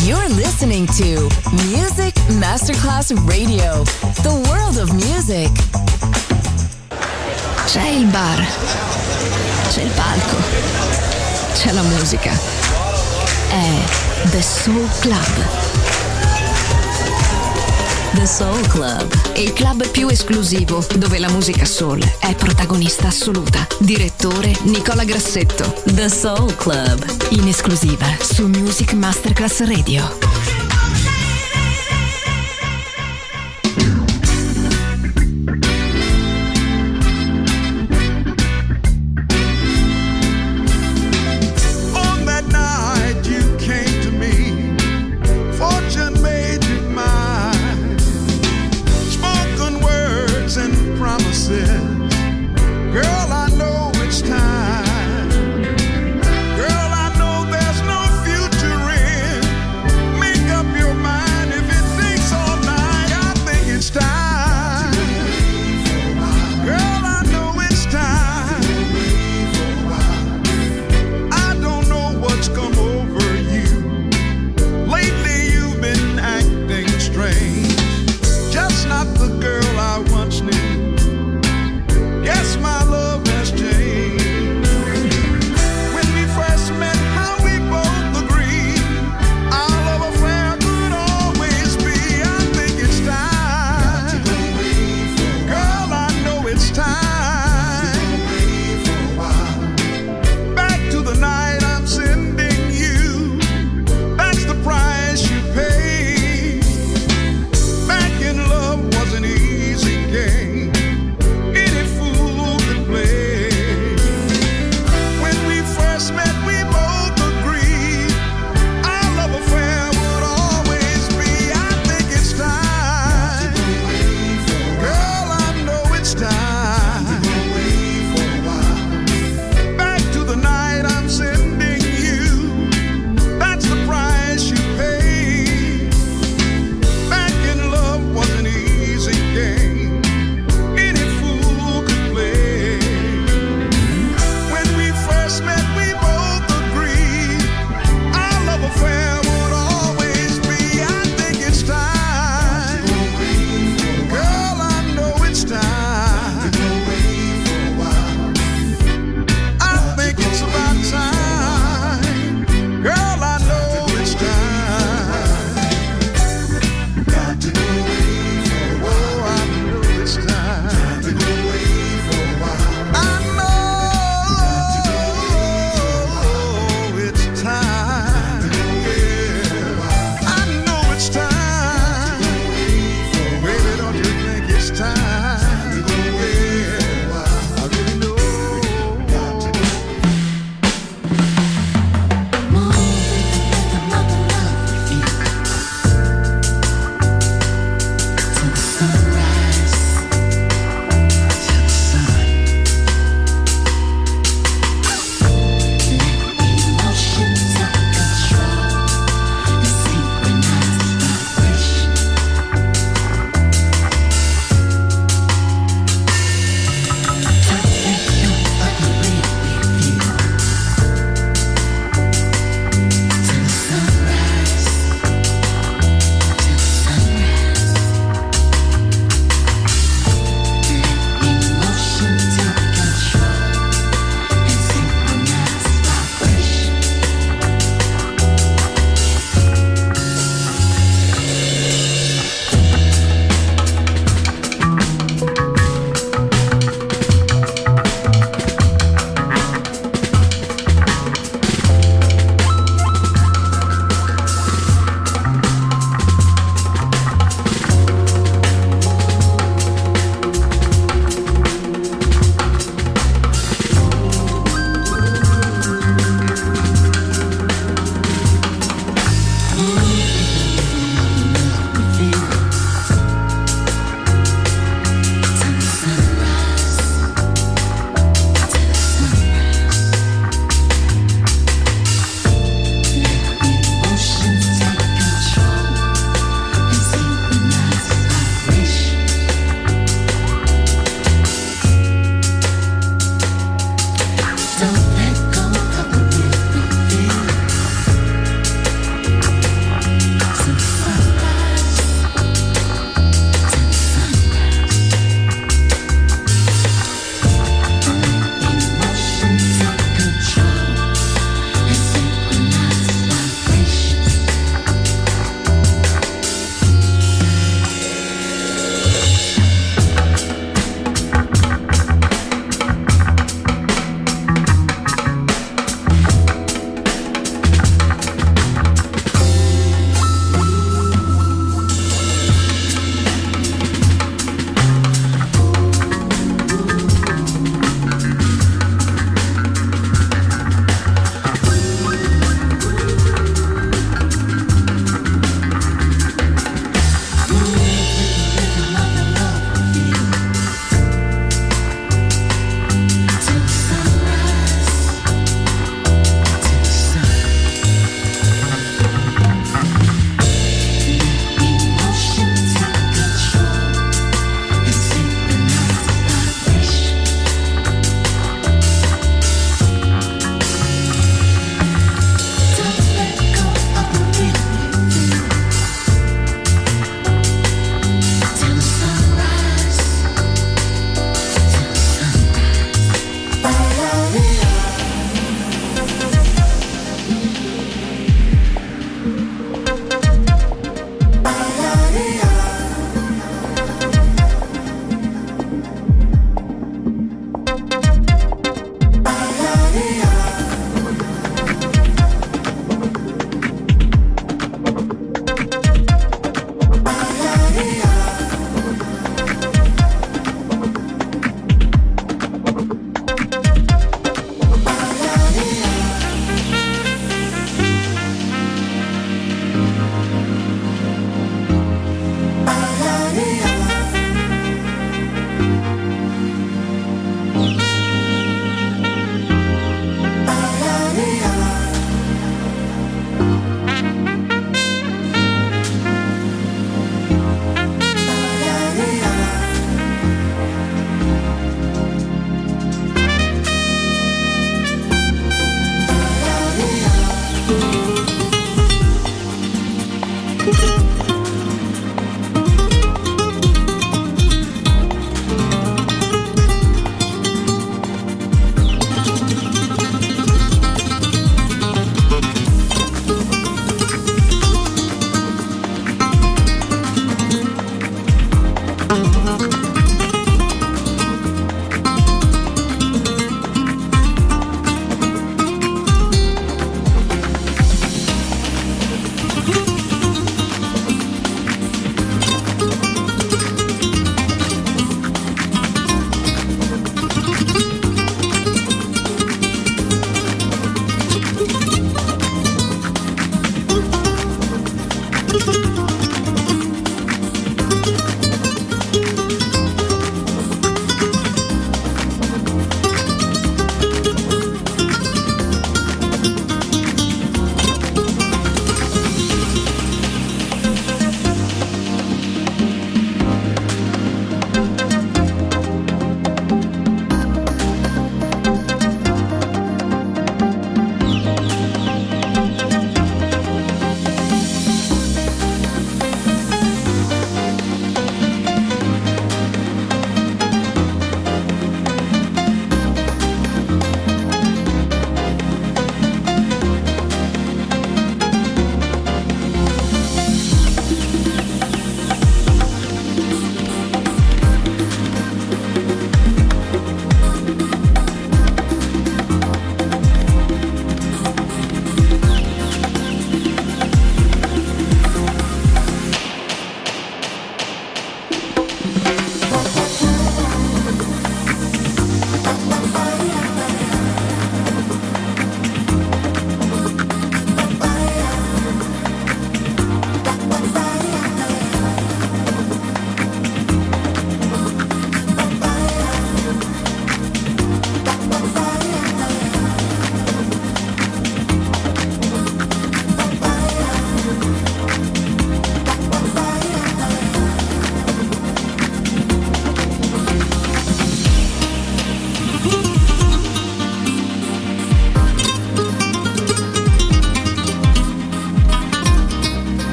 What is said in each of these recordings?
You're listening to Music Masterclass Radio, the world of music. C'è il bar, c'è il palco, c'è la musica. È The Soul Club. The Soul Club, il club più esclusivo dove la musica soul è protagonista assoluta. Direttore Nicola Grassetto. The Soul Club, in esclusiva su Music Masterclass Radio. Girl, I know there's no future in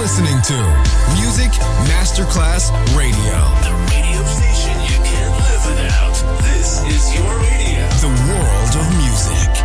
listening to Music Masterclass Radio. The radio station you can't live without. This is your radio. The world of music.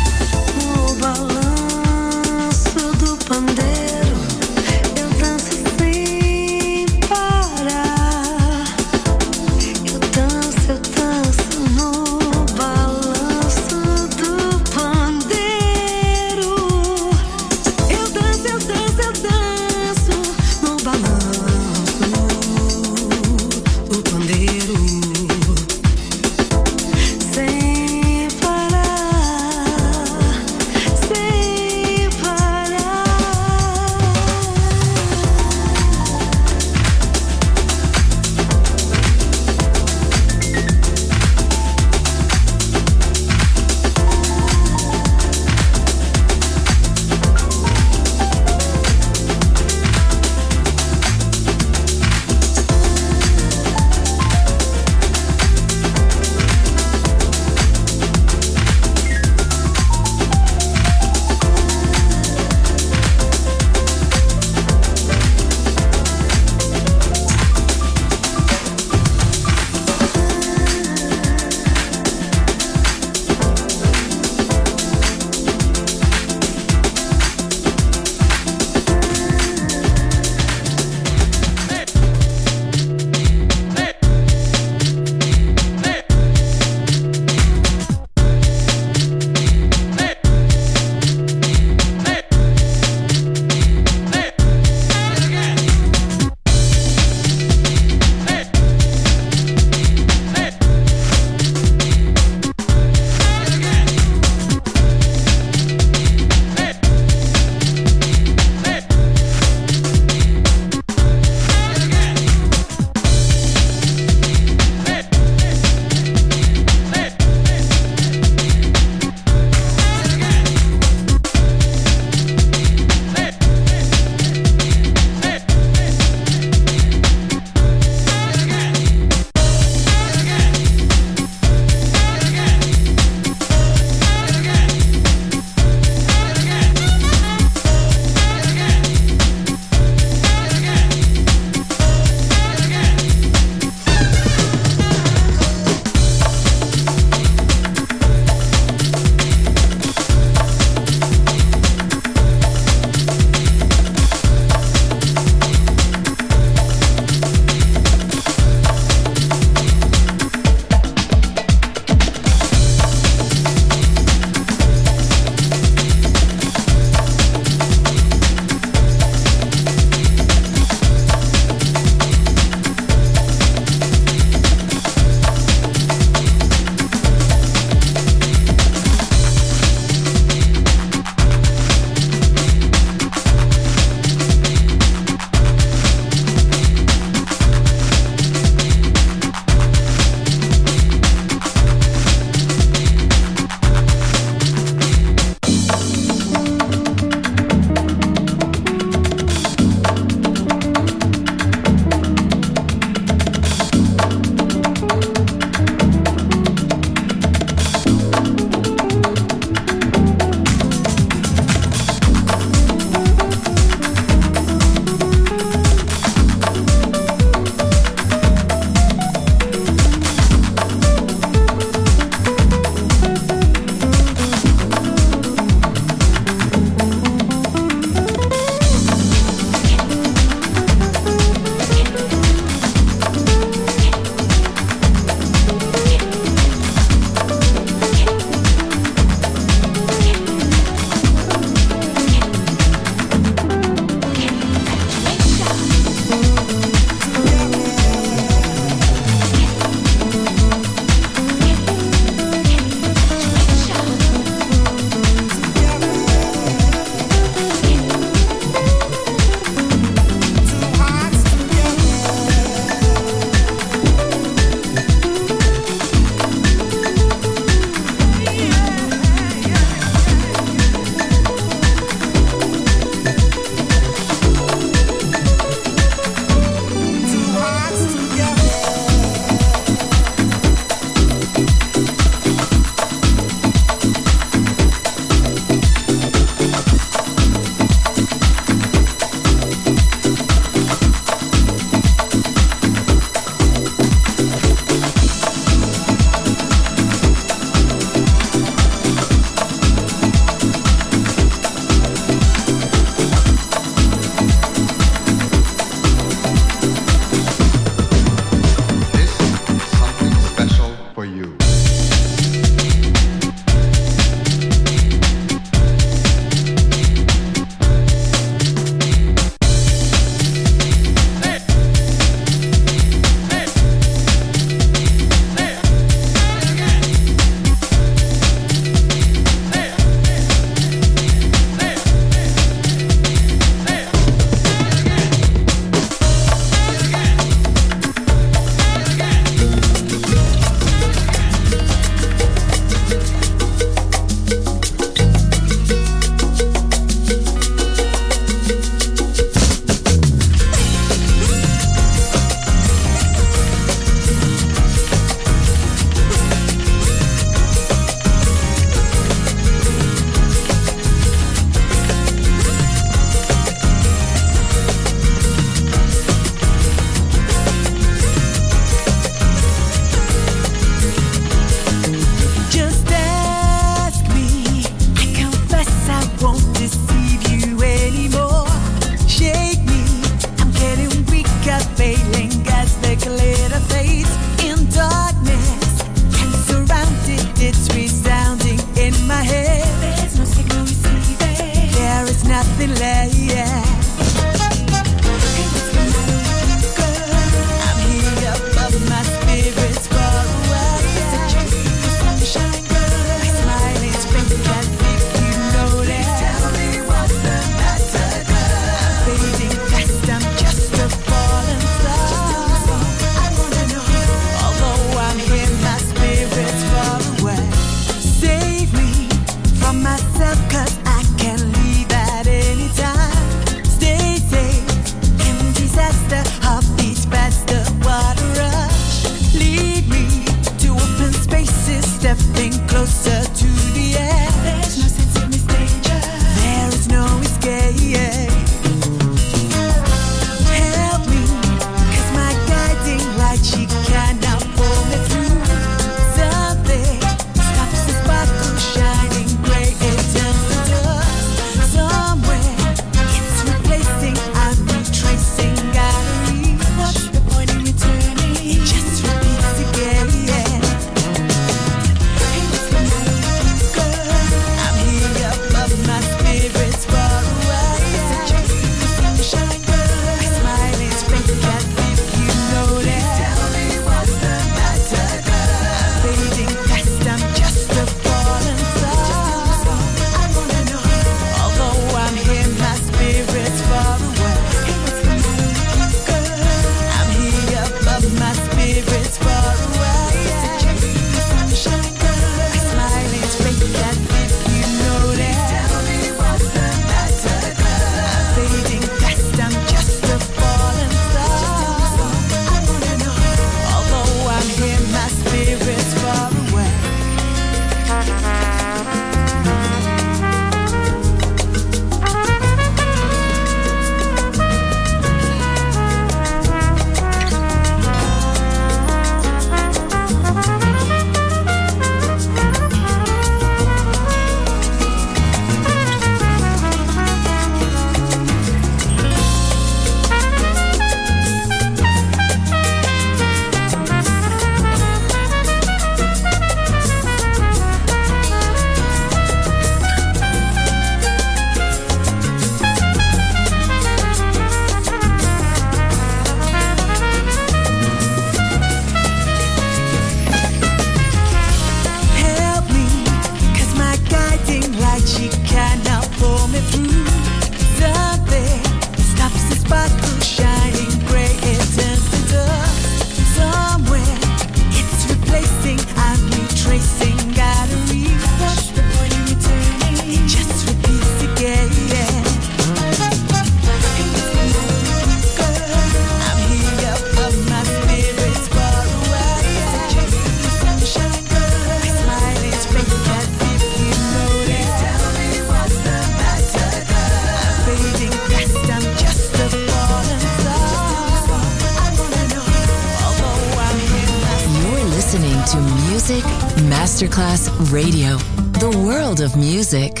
listening to Music Masterclass Radio, the world of music.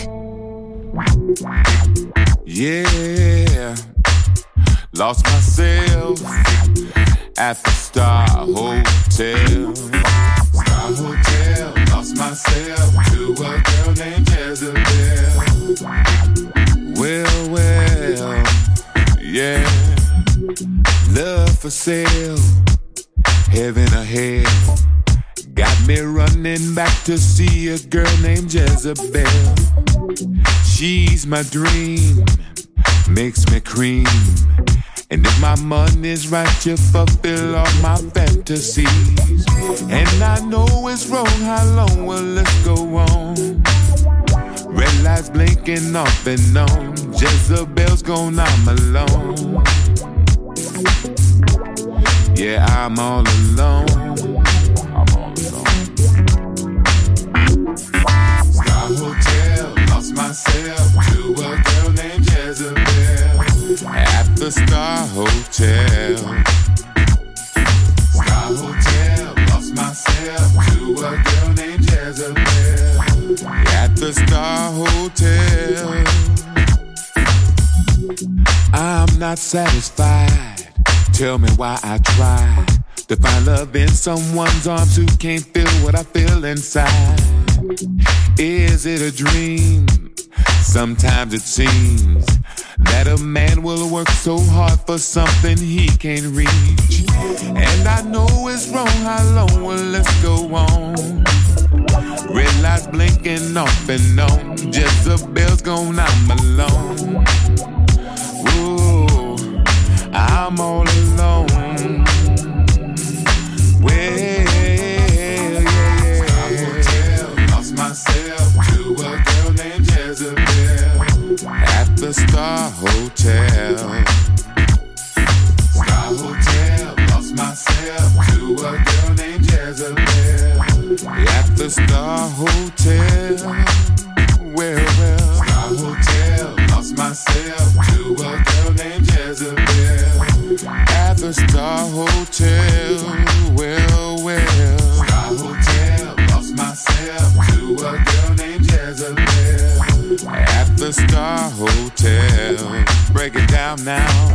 Yeah, lost myself at the Star Hotel. Star Hotel, lost myself to a girl named Jezebel. Well, yeah, love for sale, heaven or hell. Got me running back to see a girl named Jezebel. She's my dream, makes me cream. And if my money's right, you fulfill all my fantasies. And I know it's wrong, how long will this go on? Red lights blinking off and on, Jezebel's gone, I'm alone. Yeah, I'm all alone. Star Hotel, lost myself to a girl named Jezebel. At the Star Hotel. Star Hotel, lost myself to a girl named Jezebel. At the Star Hotel. I'm not satisfied. Tell me why I try to find love in someone's arms who can't feel what I feel inside. Is it a dream? Sometimes it seems that a man will work so hard for something he can't reach. And I know it's wrong, how long will this go on? Red lights blinking off and on, Jezebel's gone, I'm alone. Ooh, I'm all alone. Well, yeah. Star Hotel, lost myself to a girl named Jezebel. At the Star Hotel. Star Hotel, lost myself to a girl named Jezebel. At the Star Hotel. Well. Star Hotel, lost myself to a girl named Jezebel. At the Star Hotel. Well. Star Hotel, lost myself to a girl named Jezebel. At the Star Hotel. Break it down now.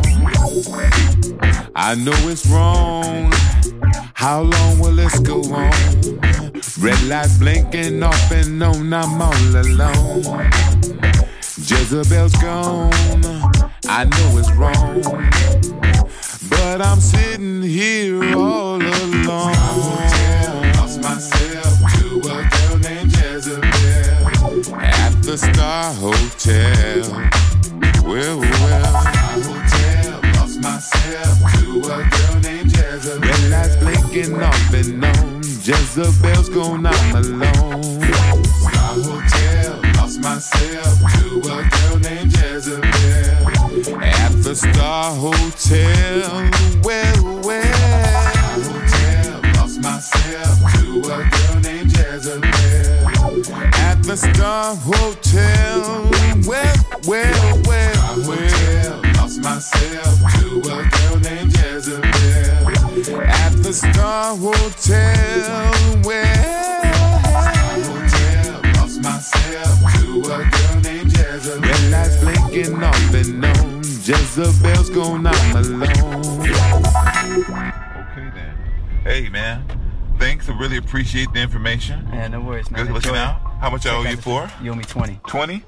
I know it's wrong. How long will this go on? Red lights blinking off and on, I'm all alone. Jezebel's gone, I know it's wrong, but I'm sitting here all alone. Star Hotel, lost myself to a girl named Jezebel. At the Star Hotel. Well. Star Hotel, lost myself to a girl named Jezebel. Red lights blinking off and on, Jezebel's gone, I'm alone. Star Hotel, lost myself to a girl named Jezebel. At the Star Hotel. Well. Star Hotel, lost myself to a girl named Jezebel. At the Star Hotel. Well. Star Hotel, lost myself to a girl named Jezebel. At the Star Hotel. Well. Star Hotel, lost myself to a girl named Jezebel. Red lights blinking off and on, Jezebel's gone, I'm alone. Okay then. Hey man, thanks. I really appreciate the information. Yeah, no worries, man. Good looking out. How much I owe you for? You owe me 20. 20?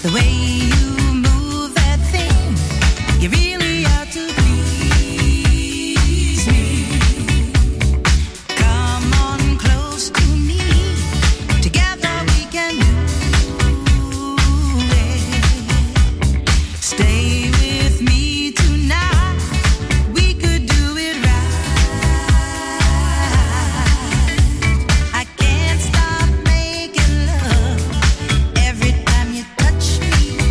The way you move that thing, you really ought to please me. Come on close to me, together we can do it. Stay with me tonight, we could do it right. I can't stop making love every time you touch me.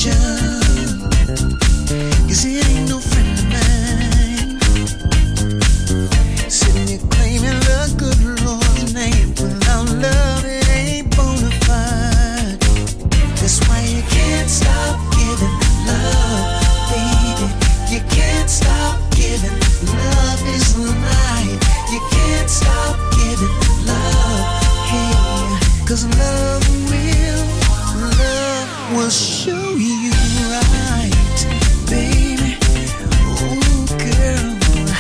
'cause it ain't no friend of mine. Sitting here claiming the good Lord's name without love, it ain't bona fide. That's why you can't stop giving love, baby. You can't stop giving. Love is life. You can't stop giving love, hey, 'cause love will show you right, baby. Oh, girl,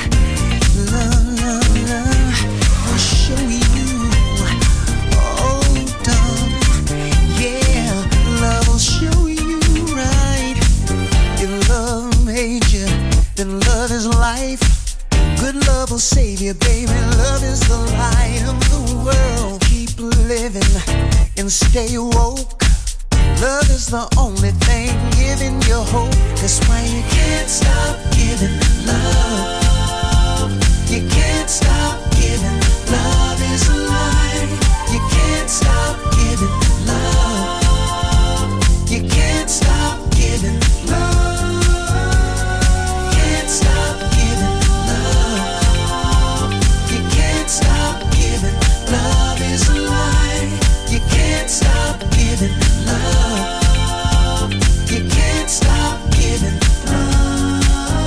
love will show you. Oh, darling, yeah, love will show you right. If love made you, then love is life. Good love will save you, baby. Love is the light of the world. Keep living and stay woke. Love is the only thing giving you hope. That's why you can't stop giving love. You can't stop giving. Love is alive. You can't stop giving love. You can't stop giving love. Can't stop giving love. You can't stop giving. Love is alive. You can't stop giving love. You can't stop giving love.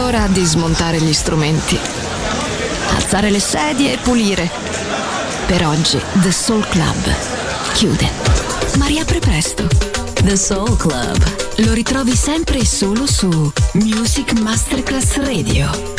ora di smontare gli strumenti, alzare le sedie e pulire. Per oggi The Soul Club chiude, ma riapre presto. The Soul Club lo ritrovi sempre e solo su Music Masterclass Radio.